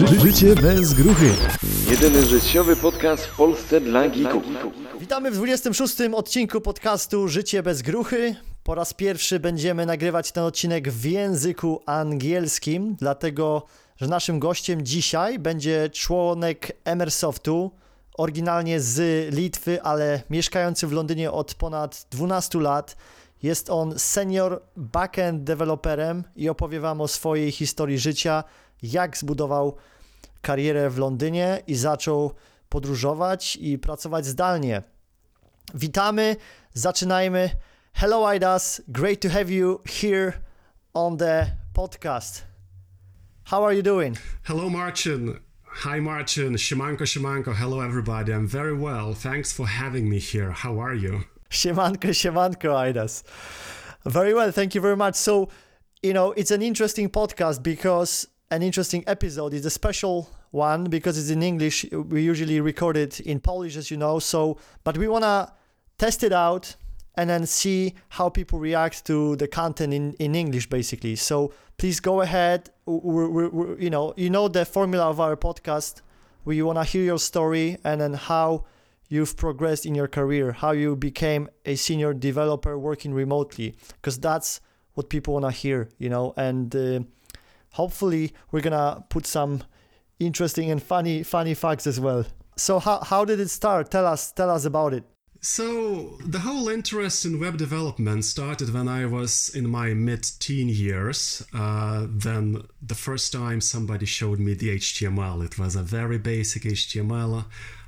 Życie bez gruchy. Jedyny życiowy podcast w Polsce dla geeków. Witamy w 26. odcinku podcastu Życie bez gruchy. Po raz pierwszy będziemy nagrywać ten odcinek w języku angielskim, dlatego że naszym gościem dzisiaj będzie członek Emersoftu, oryginalnie z Litwy, ale mieszkający w Londynie od ponad 12 lat. Jest on senior backend deweloperem i opowie wam o swojej historii życia, jak zbudował karierę w Londynie i zaczął podróżować i pracować zdalnie. Witamy, zaczynajmy. Hello Aidas, great to have you here on the podcast. How are you doing? Hello Marcin. Hi Marcin. Siemanko, siemanko. Hello everybody. I'm very well. Thanks for having me here. How are you? Siemanko, Aidas. Very well, thank you very much. So, it's an interesting podcast because an interesting episode. It's a special one because it's in English. We usually record it in Polish, as you know. But we want to test it out and then see how people react to the content in English, basically. So please go ahead. You know the formula of our podcast. We want to hear your story and then how you've progressed in your career, how you became a senior developer working remotely, because that's what people want to hear, and hopefully we're going to put some interesting and funny facts as well. So how did it start? Tell us about it. So the whole interest in web development started when I was in my mid-teen years. Then the first time somebody showed me the HTML. It was a very basic HTML.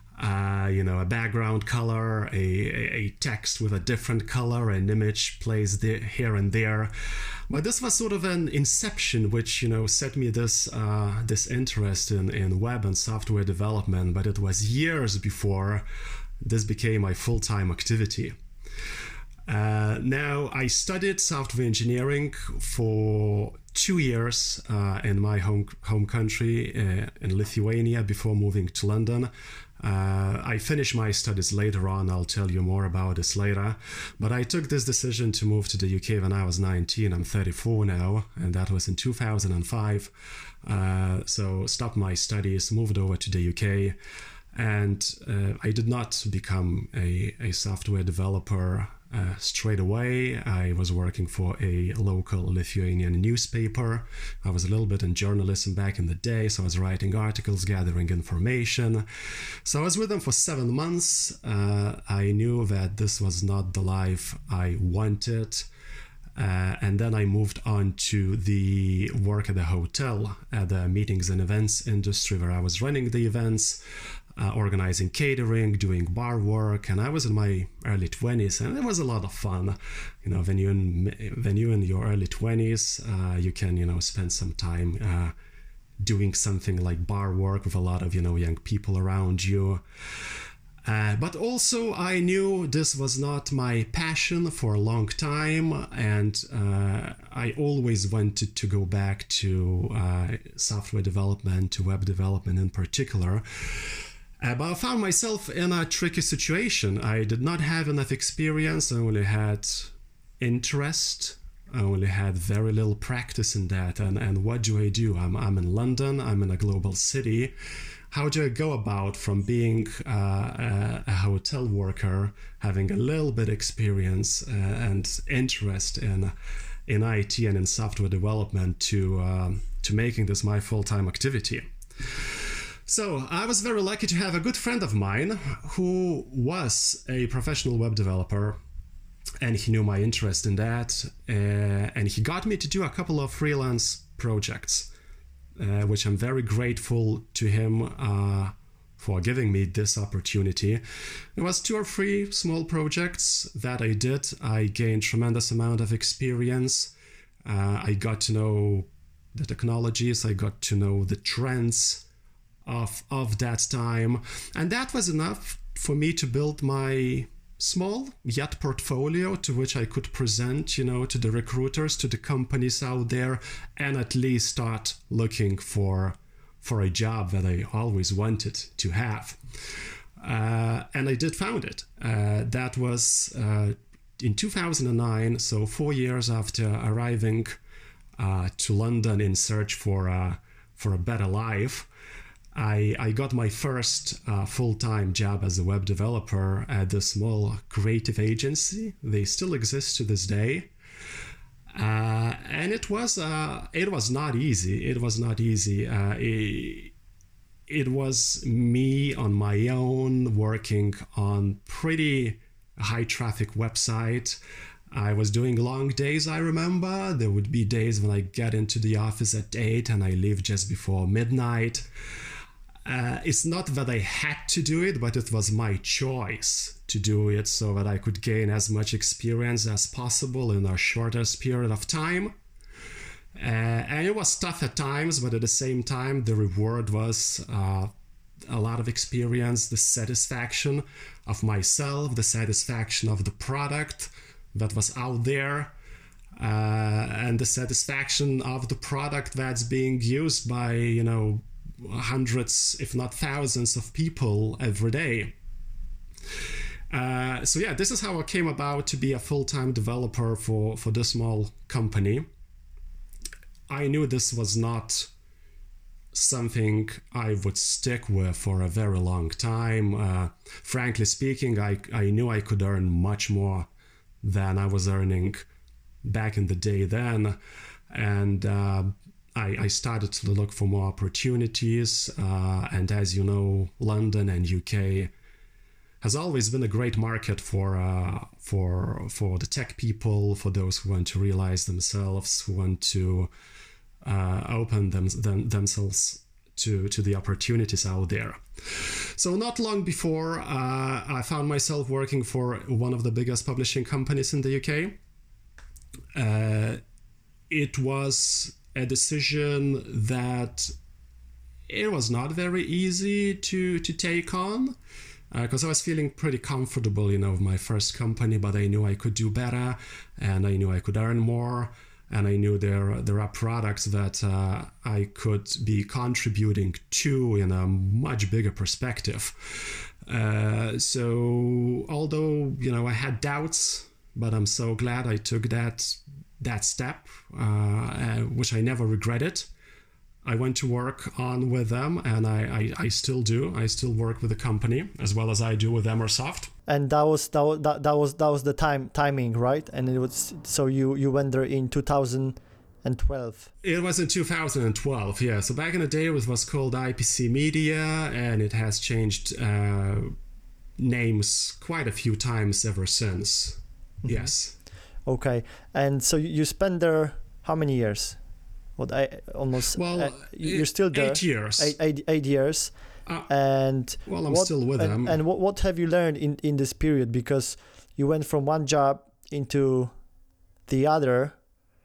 A background color, a text with a different color, an image placed here and there. But this was sort of an inception, which set me this interest in web and software development. But it was years before this became my full-time activity. Now I studied software engineering for 2 years in my home country in Lithuania before moving to London. I finished my studies later on. I'll tell you more about this later. But I took this decision to move to the UK when I was 19. I'm 34 now, and that was in 2005. So stopped my studies, moved over to the UK, and I did not become a software developer straight away. I was working for a local Lithuanian newspaper. I was a little bit in journalism back in the day, so I was writing articles, gathering information. So I was with them for 7 months. I knew that this was not the life I wanted. And then I moved on to the work at the hotel, at the meetings and events industry, where I was running the events, organizing catering, doing bar work, and I was in my early 20s, and it was a lot of fun. When you're in your early 20s, you can spend some time doing something like bar work with a lot of young people around you. But also I knew this was not my passion for a long time, and I always wanted to go back to software development, to web development in particular. But I found myself in a tricky situation. I did not have enough experience. I only had interest. I only had very little practice in that. And what do I do? I'm in London. I'm in a global city. How do I go about from being a hotel worker, having a little bit experience and interest in IT and in software development to making this my full-time activity? So I was very lucky to have a good friend of mine who was a professional web developer, and he knew my interest in that, and he got me to do a couple of freelance projects, which I'm very grateful to him for giving me this opportunity. It was 2 or 3 small projects that I did. I gained tremendous amount of experience. I got to know the technologies. I got to know the trends of that time, and that was enough for me to build my small yet portfolio to which I could present to the recruiters, to the companies out there, and at least start looking for a job that I always wanted to have. And I did found it. That was in 2009, so 4 years after arriving to London in search for for a better life, I got my first full-time job as a web developer at a small creative agency. They still exist to this day. And it was not easy. It was not easy. It was me on my own working on pretty high traffic website. I was doing long days, I remember. There would be days when I get into the office at 8 and I leave just before midnight. It's not that I had to do it, but it was my choice to do it so that I could gain as much experience as possible in a shortest period of time. And it was tough at times, but at the same time, the reward was a lot of experience, the satisfaction of myself, the satisfaction of the product that was out there, and the satisfaction of the product that's being used by, hundreds, if not thousands of people every day. So yeah, this is how I came about to be a full-time developer for this small company. I knew this was not something I would stick with for a very long time. Frankly speaking, I knew I could earn much more than I was earning back in the day then. And I started to look for more opportunities. And as you know, London and UK has always been a great market for the tech people, for those who want to realize themselves, who want to open themselves to the opportunities out there. So not long before, I found myself working for one of the biggest publishing companies in the UK. It was a decision that it was not very easy to take on, because I was feeling pretty comfortable, with my first company, but I knew I could do better, and I knew I could earn more, and I knew there are products that I could be contributing to in a much bigger perspective. So although, I had doubts, but I'm so glad I took that step, which I never regretted. I went to work on with them, and I still do. I still work with the company as well as I do with Emersoft. And that was the timing, right? And it was, so you went there in 2012. It was in 2012, yeah. So back in the day, it was called IPC Media, and it has changed names quite a few times ever since. Mm-hmm. Yes. Okay, and so you spent there how many years? You're still there. 8 years. 8 years. And I'm still with them. And what have you learned in this period? Because you went from one job into the other,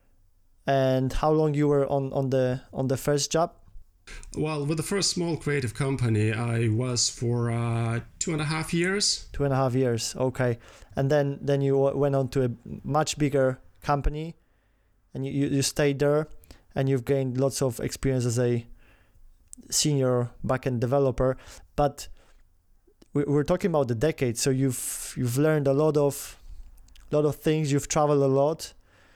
and how long you were on the first job? Well, with the first small creative company, I was for 2.5 years. 2.5 years, okay. And then you went on to a much bigger company, and you stayed there, and you've gained lots of experience as a senior backend developer. But we're talking about the decade, so you've learned a lot of things. You've traveled a lot,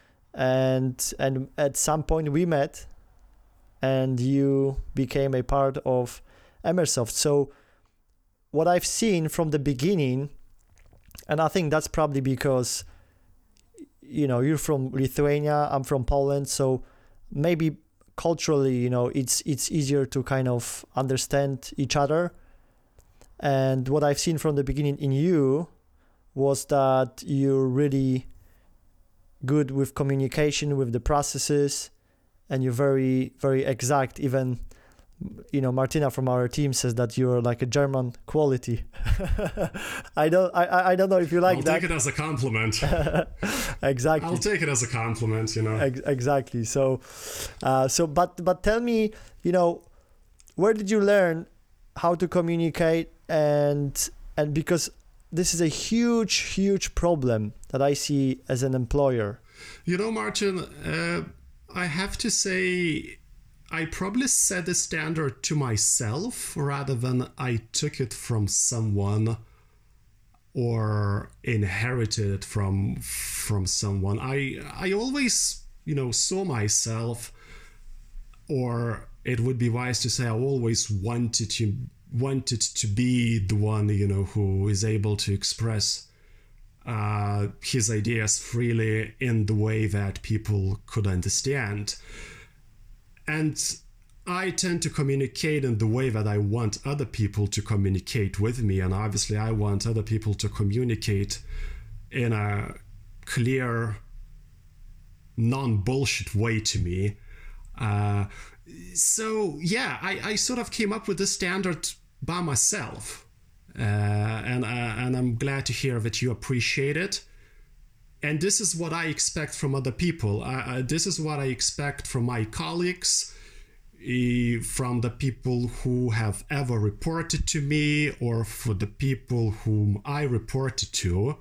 and at some point we met, and you became a part of Emersoft. So what I've seen from the beginning, and I think that's probably because you're from Lithuania, I'm from Poland, so maybe culturally, it's easier to kind of understand each other. And what I've seen from the beginning in you was that you're really good with communication, with the processes, and you're very, very exact. Even, Martina from our team says that you're like a German quality. I don't know if you like I'll that. I'll take it as a compliment. Exactly. I'll take it as a compliment, Exactly. So, but tell me, where did you learn how to communicate, and because this is a huge problem that I see as an employer. Martin, I have to say, I probably set the standard to myself rather than I took it from someone or inherited it from someone. I always, saw myself, or it would be wise to say I always wanted to be the one, who is able to express his ideas freely in the way that people could understand. And I tend to communicate in the way that I want other people to communicate with me. And obviously I want other people to communicate in a clear, non-bullshit way to me. So yeah, I sort of came up with this standard by myself. And I'm glad to hear that you appreciate it. And this is what I expect from other people. This is what I expect from my colleagues, from the people who have ever reported to me, or for the people whom I reported to.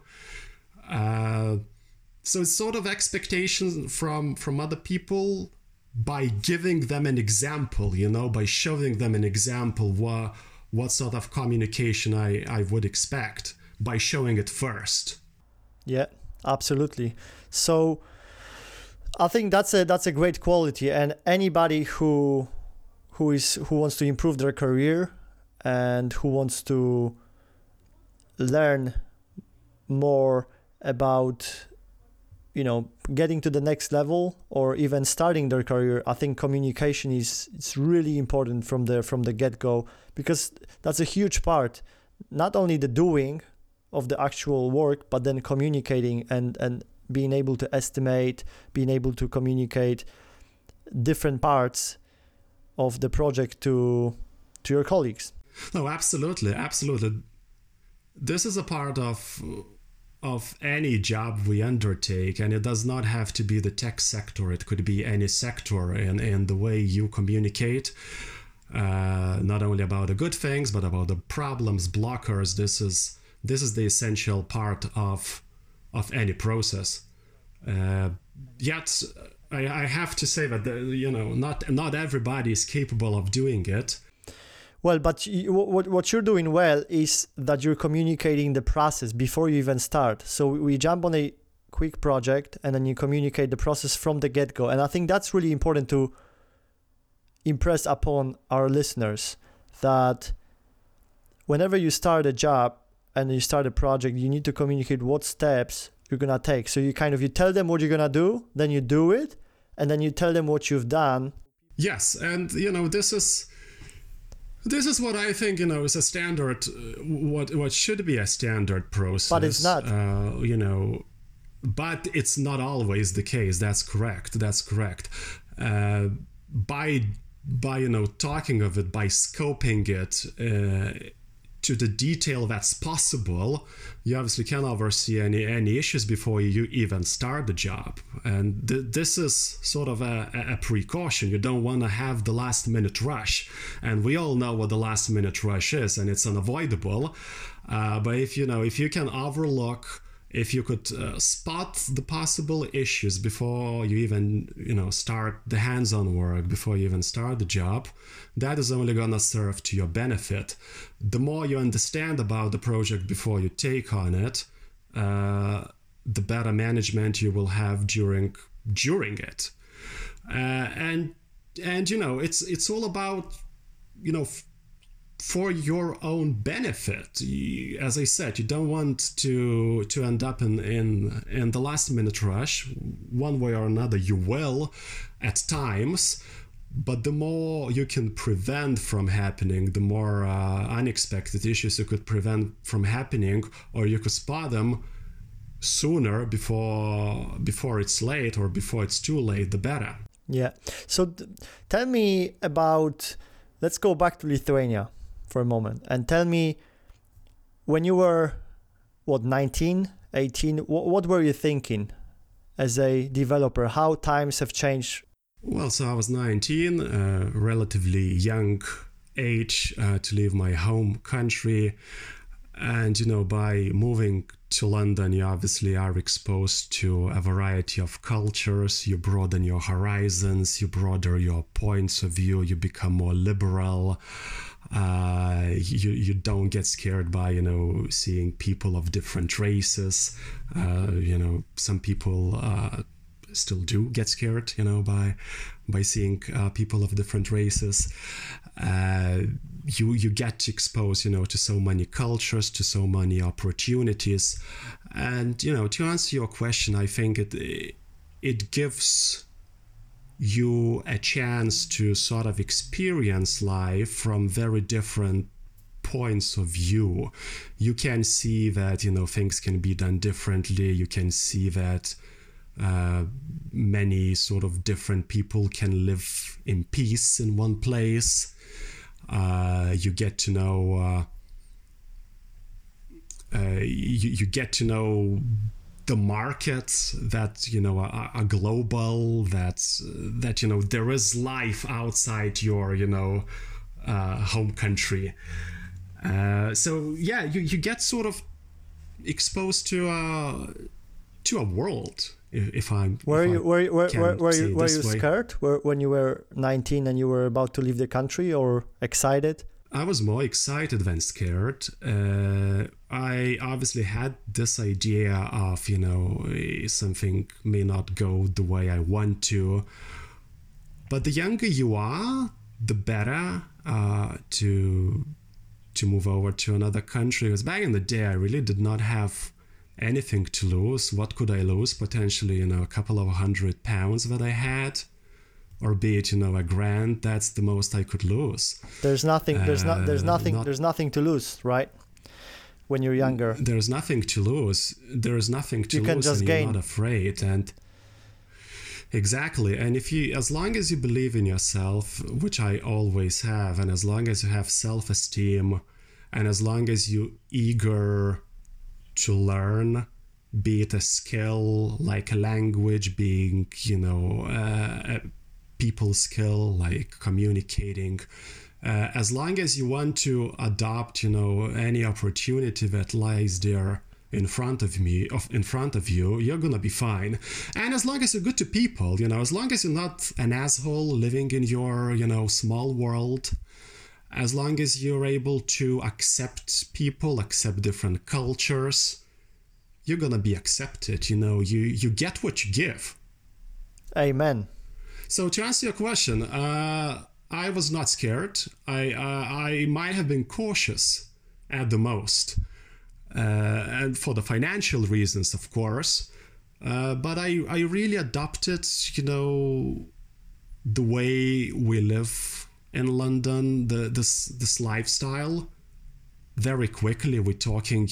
So it's sort of expectations from other people by giving them an example, by showing them an example what sort of communication I would expect, by showing it first. Yeah, absolutely. So I think that's a great quality, and anybody who wants to improve their career and who wants to learn more about getting to the next level or even starting their career, I think communication it's really important from the get-go, because that's a huge part, not only the doing of the actual work, but then communicating and being able to estimate, being able to communicate different parts of the project to your colleagues. No, absolutely. This is a part of any job we undertake, and it does not have to be the tech sector. It could be any sector, in the way you communicate, not only about the good things, but about the problems, blockers. This is the essential part of any process. Yet, I have to say that not everybody is capable of doing it. Well, but what you're doing well is that you're communicating the process before you even start. So we jump on a quick project and then you communicate the process from the get-go. And I think that's really important to impress upon our listeners, that whenever you start a job and you start a project, you need to communicate what steps you're going to take. So you tell them what you're going to do, then you do it, and then you tell them what you've done. Yes, and this is what I think, is a standard, what should be a standard process. But it's not. But it's not always the case. That's correct. By talking of it, by scoping it to the detail that's possible, you obviously can oversee any issues before you even start the job. And this is sort of a precaution. You don't want to have the last minute rush. And we all know what the last minute rush is, and it's unavoidable. But if you can overlook, if you could spot the possible issues before you even start the hands-on work, before you even start the job, that is only going to serve to your benefit. The more you understand about the project before you take on it, the better management you will have during it. And it's all about for your own benefit. As I said, you don't want to end up in the last minute rush. One way or another you will at times, but the more you can prevent from happening, the more unexpected issues you could prevent from happening, or you could spot them sooner before it's late, or before it's too late, the better. Yeah. So tell me about, let's go back to Lithuania for a moment, and tell me, when you were 19, 18, what were you thinking as a developer? How times have changed? Well, so I was 19, relatively young age to leave my home country, and by moving to London, you obviously are exposed to a variety of cultures. You broaden your horizons, you broaden your points of view, you become more liberal. You don't get scared by seeing people of different races. Some people still do get scared, by seeing people of different races. You get exposed, to so many cultures, to so many opportunities. And, to answer your question, I think it gives you a chance to sort of experience life from very different points of view. You can see that, things can be done differently. You can see that many sort of different people can live in peace in one place. You get to know you get to know the markets that are global, that there is life outside your home country. So yeah, you get sort of exposed to a world. Were you scared when you were 19 and you were about to leave the country, or excited? I was more excited than scared. I obviously had this idea of, something may not go the way I want to. But the younger you are, the better to move over to another country. Because back in the day, I really did not have anything to lose. What could I lose? Potentially, a couple of £100 that I had. Or be it, a grand. That's the most I could lose. There's nothing to lose, right? When you're younger, there's nothing to lose. There's nothing to lose. You can just gain. You're not afraid, and exactly. And as long as you believe in yourself, which I always have, and as long as you have self-esteem, and as long as you're eager to learn, be it a skill like a language, being a people skill like communicating, as long as you want to adopt any opportunity that lies there in front of you, you're gonna be fine. And as long as you're good to people, as long as you're not an asshole living in your small world, as long as you're able to accept people, accept different cultures, you're gonna be accepted. You get what you give. Amen. So to answer your question, I was not scared. I might have been cautious at the most, and for the financial reasons, of course. But I really adopted, the way we live in London, this lifestyle, very quickly. We're talking,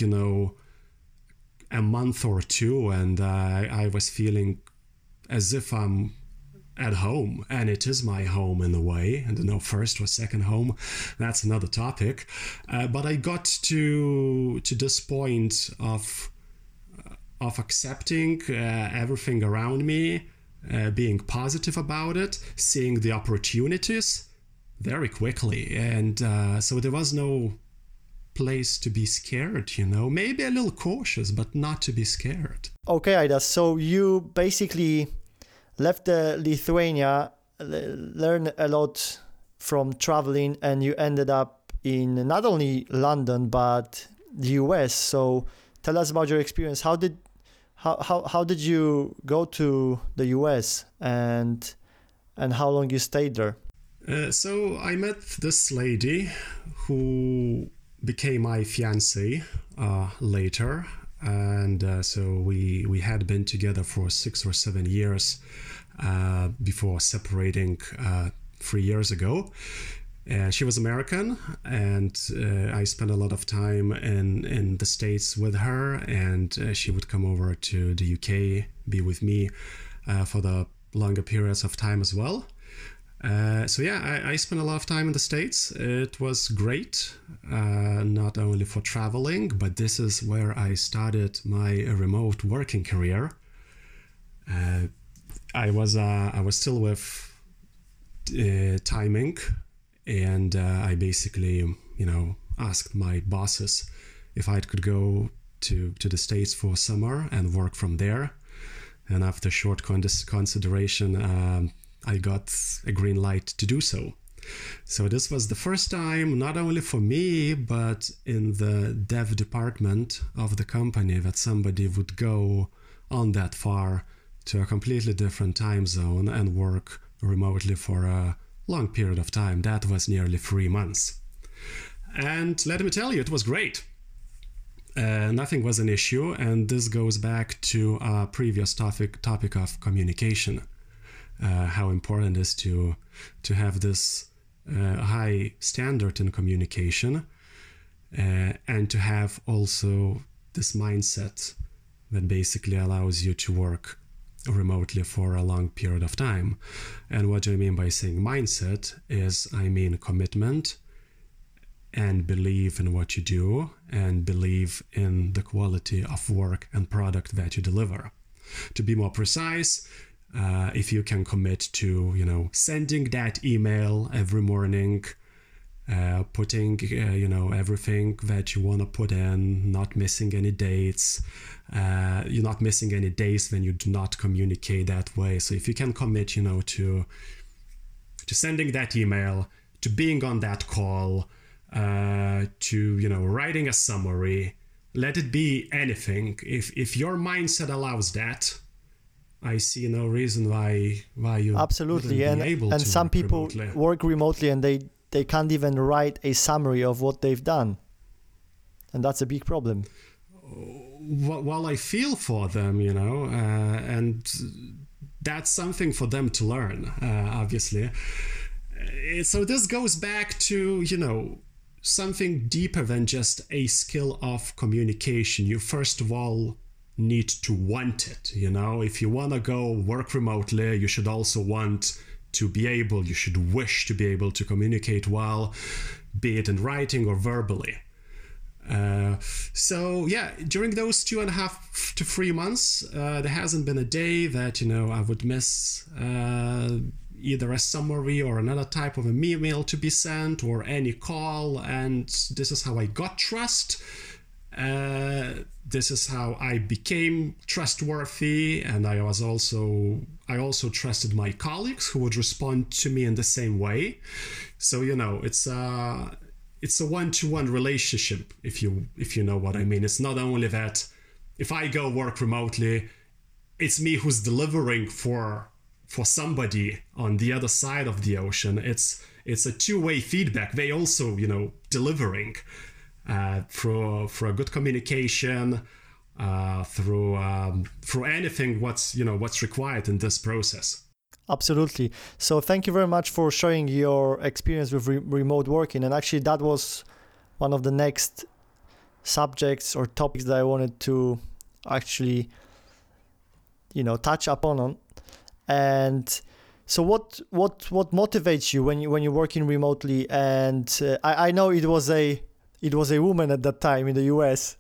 a month or two, and I was feeling as if I'm at home, and it is my home in a way. I don't know, first or second home, that's another topic. But I got to this point of accepting everything around me, being positive about it, seeing the opportunities very quickly, and so there was no place to be scared. Maybe a little cautious, but not to be scared. Okay, Aidas. So you basically left Lithuania, learned a lot from traveling, and you ended up in not only London but the US. So tell us about your experience. How did you go to the US, and how long you stayed there? So I met this lady who became my fiancée later. And so we had been together for 6 or 7 years before separating 3 years ago. She was American, and I spent a lot of time in the States with her, and she would come over to the UK, be with me for the longer periods of time as well. So yeah, I spent a lot of time in the States. It was great, not only for traveling, but this is where I started my remote working career. I was still with Time Inc., and I basically, asked my bosses if I could go to the States for summer and work from there. And after short consideration, I got a green light to do so. So this was the first time, not only for me, but in the dev department of the company, that somebody would go on that far to a completely different time zone and work remotely for a long period of time. That was nearly 3 months. And let me tell you, it was great. Nothing was an issue, and this goes back to our previous topic of communication. How important it is to have this high standard in communication, and to have also this mindset that basically allows you to work remotely for a long period of time. And what I mean by saying mindset is, I mean commitment, and believe in what you do, and believe in the quality of work and product that you deliver. To be more precise, if you can commit to, sending that email every morning, putting, everything that you want to put in, not missing any dates, you're not missing any days when you do not communicate that way. So if you can commit, to sending that email, to being on that call, to writing a summary, let it be anything. If your mindset allows that, I see no reason why you absolutely wouldn't be able and to some work people remotely. work remotely and they can't even write a summary of what they've done, and that's a big problem. Well, I feel for them, and that's something for them to learn, obviously. So this goes back to something deeper than just a skill of communication. You first of all need to want it. If you want to go work remotely, you should also want to be able, you should wish to be able to communicate well, be it in writing or verbally. So yeah, during those 2.5 to 3 months, there hasn't been a day that I would miss either a summary or another type of an email to be sent or any call. And this is how I got trust. This is how I became trustworthy, and I also trusted my colleagues who would respond to me in the same way. So it's a one-to-one relationship, if you know what I mean. It's not only that if I go work remotely, it's me who's delivering for somebody on the other side of the ocean. It's a two-way feedback. They also delivering through a good communication, through anything what's required in this process. Absolutely. So thank you very much for sharing your experience with remote working. And actually, that was one of the next subjects or topics that I wanted to actually, touch upon. And so what motivates you when you're working remotely? And I know it was a woman at that time in the US,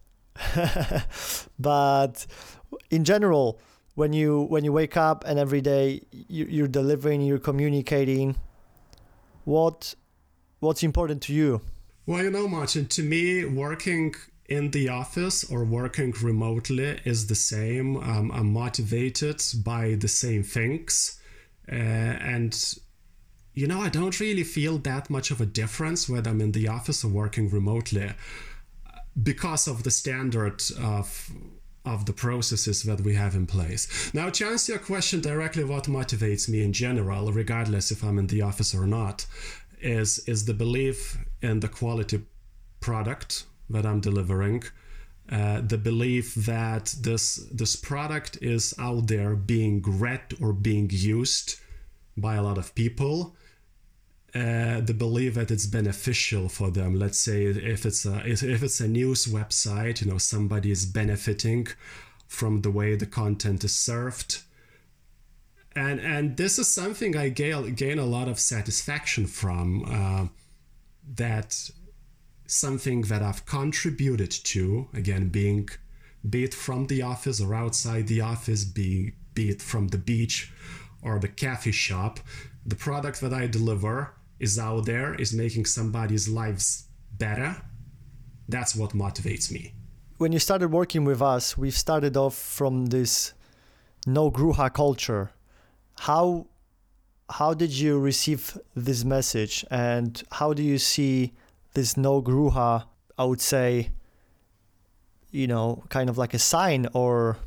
but in general, when you wake up and every day you're delivering, you're communicating, what's important to you? Well, Martin, to me, working in the office or working remotely is the same. I'm motivated by the same things, and I don't really feel that much of a difference whether I'm in the office or working remotely, because of the standard of the processes that we have in place. Now, to answer your question directly, what motivates me in general, regardless if I'm in the office or not, is the belief in the quality product that I'm delivering, the belief that this product is out there being read or being used by a lot of people, the belief that it's beneficial for them. Let's say if it's a news website, somebody is benefiting from the way the content is served, and this is something I gain a lot of satisfaction from. That something that I've contributed to, again, be it from the office or outside the office, be it from the beach or the coffee shop, the product that I deliver is out there, is making somebody's lives better. That's what motivates me. When you started working with us, we've started off from this no Gruha culture. How did you receive this message, and how do you see this no Gruha, I would say, kind of like a sign or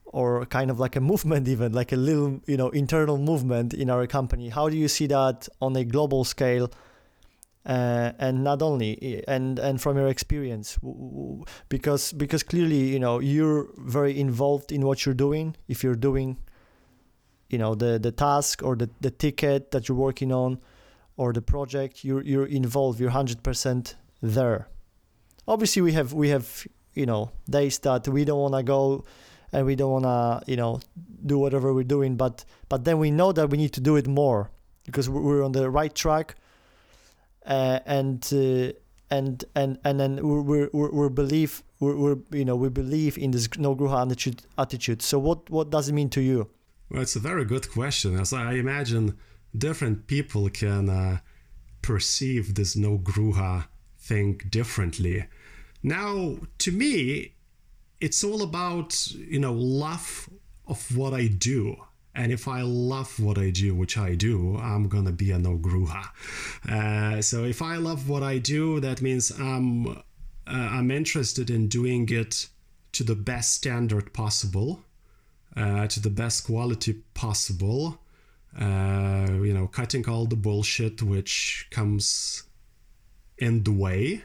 or kind of like a movement, even like a little, internal movement in our company. How do you see that on a global scale? And not only, and from your experience, because clearly, you're very involved in what you're doing. If you're doing, the task or the ticket that you're working on, or the project, you're involved. You're 100% there. Obviously, we have days that we don't want to go, and we don't want to do whatever we're doing. But then we know that we need to do it more because we're on the right track. And then we believe in this no gruha attitude. So what does it mean to you? Well, it's a very good question. As I imagine, different people can perceive this no gruha thing differently. Now, to me, it's all about love of what I do. And if I love what I do, which I do, I'm gonna be a no gruha. So if I love what I do, that means I'm interested in doing it to the best standard possible, to the best quality possible. Cutting all the bullshit which comes in the way.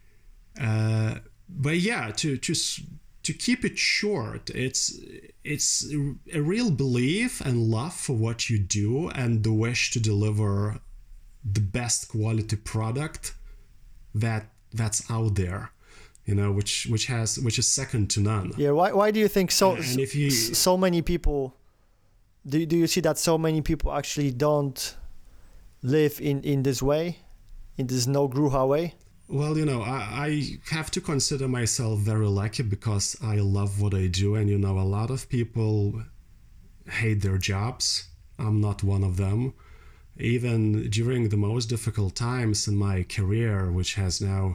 But yeah, to keep it short, it's a real belief and love for what you do and the wish to deliver the best quality product that's out there, which is second to none. Yeah. Why do you think so? And if so many people, do you see that so many people actually don't live in this way, in this no gruha way? Well, I have to consider myself very lucky because I love what I do. And, a lot of people hate their jobs. I'm not one of them. Even during the most difficult times in my career, which has now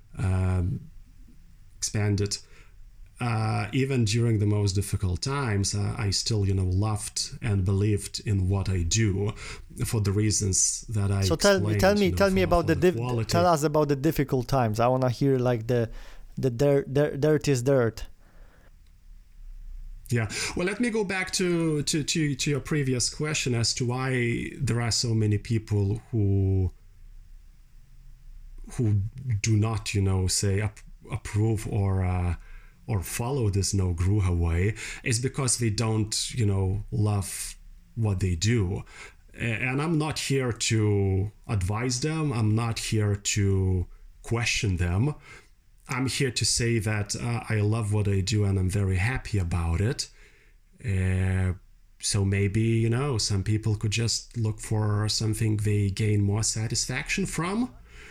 expanded, even during the most difficult times, I still, loved and believed in what I do for the reasons that I explained. So tell me about tell us about the difficult times. I want to hear like the dirtiest dirt. Yeah. Well, let me go back to your previous question as to why there are so many people who do not, say approve or follow this no gruha way. Is because they don't, love what they do. And I'm not here to advise them. I'm not here to question them. I'm here to say that I love what I do and I'm very happy about it. So maybe, some people could just look for something they gain more satisfaction from.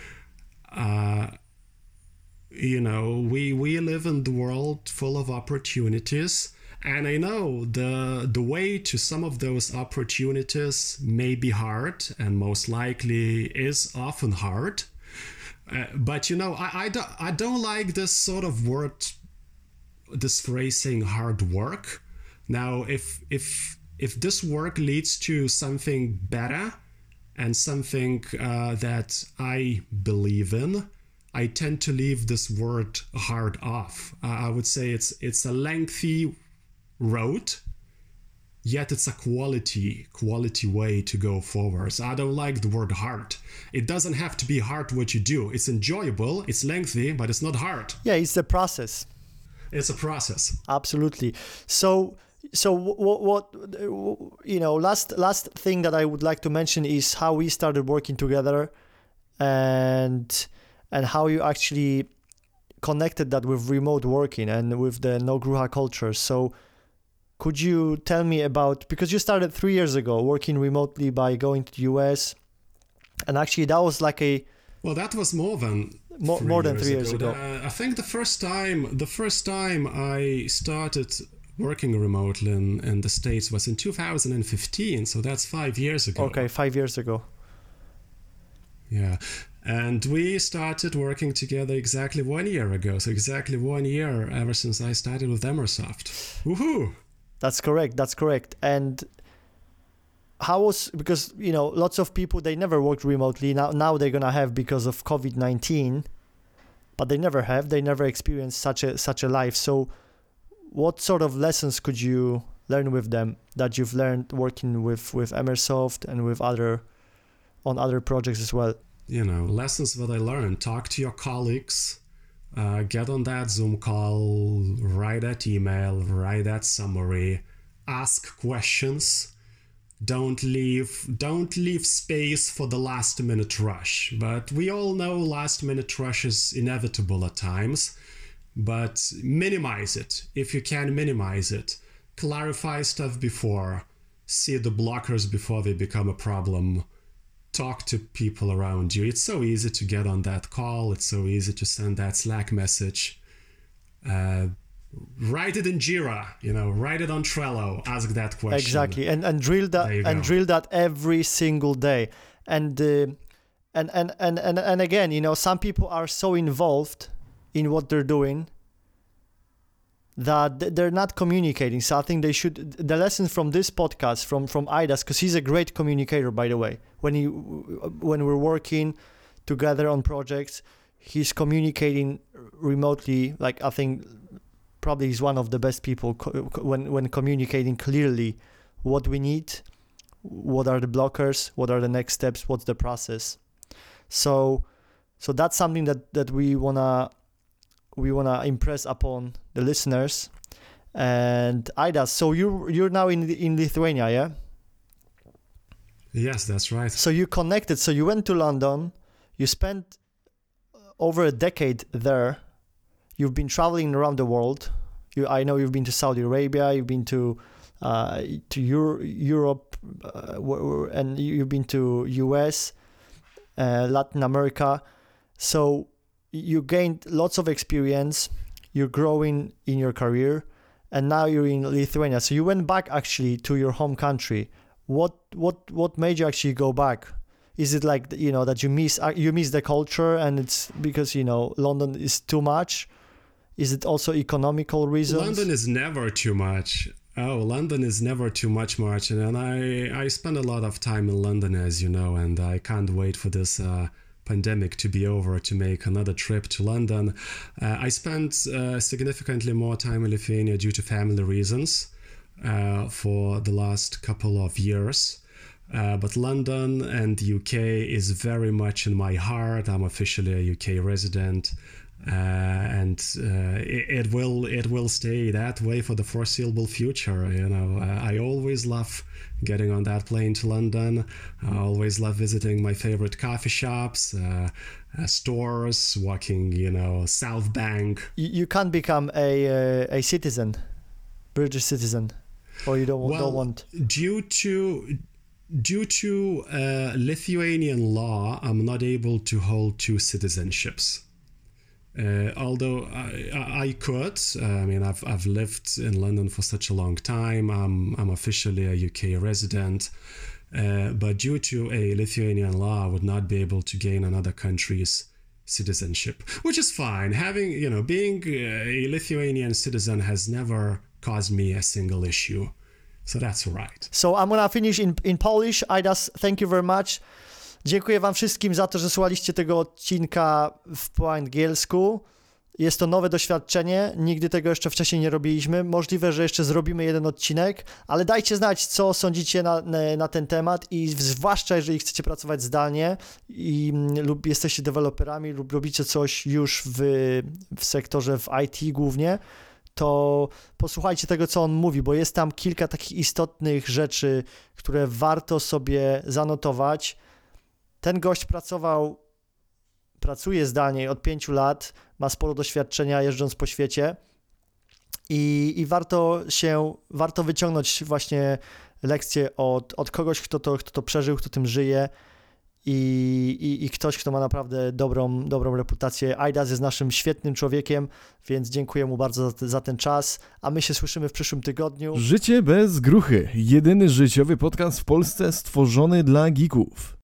We live in the world full of opportunities. And I know the way to some of those opportunities may be hard and most likely is often hard. But, I don't like this sort of word, this phrase saying hard work. Now, if this work leads to something better and something that I believe in, I tend to leave this word hard off. I would say it's a lengthy road, yet it's a quality way to go forward. So I don't like the word hard. It doesn't have to be hard what you do. It's enjoyable, it's lengthy, but it's not hard. Yeah, it's the process. It's a process. Absolutely. So what last thing that I would like to mention is how we started working together and how you actually connected that with remote working and with the no gruha culture. So could you tell me about, because you started 3 years ago working remotely by going to the US, and actually that was like well, that was more than 3 years ago. I think the first time I started working remotely in the States was in 2015, so that's 5 years ago. Okay, 5 years ago. Yeah. And we started working together exactly 1 year ago. So exactly 1 year ever since I started with Emersoft. Woohoo! That's correct. And how was, because, lots of people, they never worked remotely. Now they're going to have because of COVID-19, but they never experienced such a life. So what sort of lessons could you learn with them that you've learned working with Emersoft and with on other projects as well? Lessons that I learned: talk to your colleagues, get on that Zoom call, write that email, write that summary, ask questions. Don't leave space for the last minute rush. But we all know last minute rush is inevitable at times. But minimize it. If you can, minimize it. Clarify stuff before. See the blockers before they become a problem. Talk to people around you. It's so easy to get on that call. It's so easy to send that Slack message. Write it in Jira, write it on Trello, ask that question. Exactly, and drill that every single day. And again, some people are so involved in what they're doing that they're not communicating. So I think they should. The lesson from this podcast from Aidas, because he's a great communicator, by the way. When we're working together on projects, he's communicating remotely. Like, I think probably he's one of the best people when communicating clearly what we need, what are the blockers, what are the next steps, what's the process. So that's something that we wanna impress upon the listeners. And Aidas, so you're now in Lithuania, yeah? Yes, that's right. So you connected. So you went to London. You spent over a decade there. You've been traveling around the world. I know you've been to Saudi Arabia. You've been to Europe, and you've been to US, Latin America. So you gained lots of experience. You're growing in your career, and now you're in Lithuania. So you went back actually to your home country. What made you actually go back? Is it like that you miss the culture, and it's because London is too much? Is it also economical reasons? London is never too much. London is never too much, Martin. And I spend a lot of time in London, as you know, and I can't wait for this pandemic to be over to make another trip to London. I spent significantly more time in Lithuania due to family reasons for the last couple of years. But London and the UK is very much in my heart. I'm officially a UK resident. And it will stay that way for the foreseeable future. I always love getting on that plane to London. I always love visiting my favorite coffee shops, stores, walking, South Bank. You can't become a citizen, British citizen, or you don't want. Due to Lithuanian law, I'm not able to hold two citizenships. Although I could, I've lived in London for such a long time. I'm officially a UK resident, but due to a Lithuanian law, I would not be able to gain another country's citizenship, which is fine. Being a Lithuanian citizen has never caused me a single issue, so that's all right. So I'm gonna finish in Polish. Aidas, thank you very much. Dziękuję wam wszystkim za to, że słuchaliście tego odcinka po angielsku. Jest to nowe doświadczenie, nigdy tego jeszcze wcześniej nie robiliśmy. Możliwe, że jeszcze zrobimy jeden odcinek, ale dajcie znać, co sądzicie na ten temat i zwłaszcza, jeżeli chcecie pracować zdalnie lub jesteście deweloperami lub robicie coś już w sektorze w IT głównie, to posłuchajcie tego, co on mówi, bo jest tam kilka takich istotnych rzeczy, które warto sobie zanotować. Ten gość pracuje zdalnie od 5 lat, ma sporo doświadczenia jeżdżąc po świecie i warto wyciągnąć właśnie lekcję od kogoś, kto to przeżył, kto tym żyje i ktoś, kto ma naprawdę dobrą reputację. Aidas jest naszym świetnym człowiekiem, więc dziękuję mu bardzo za ten czas, a my się słyszymy w przyszłym tygodniu. Życie bez gruchy. Jedyny życiowy podcast w Polsce stworzony dla geeków.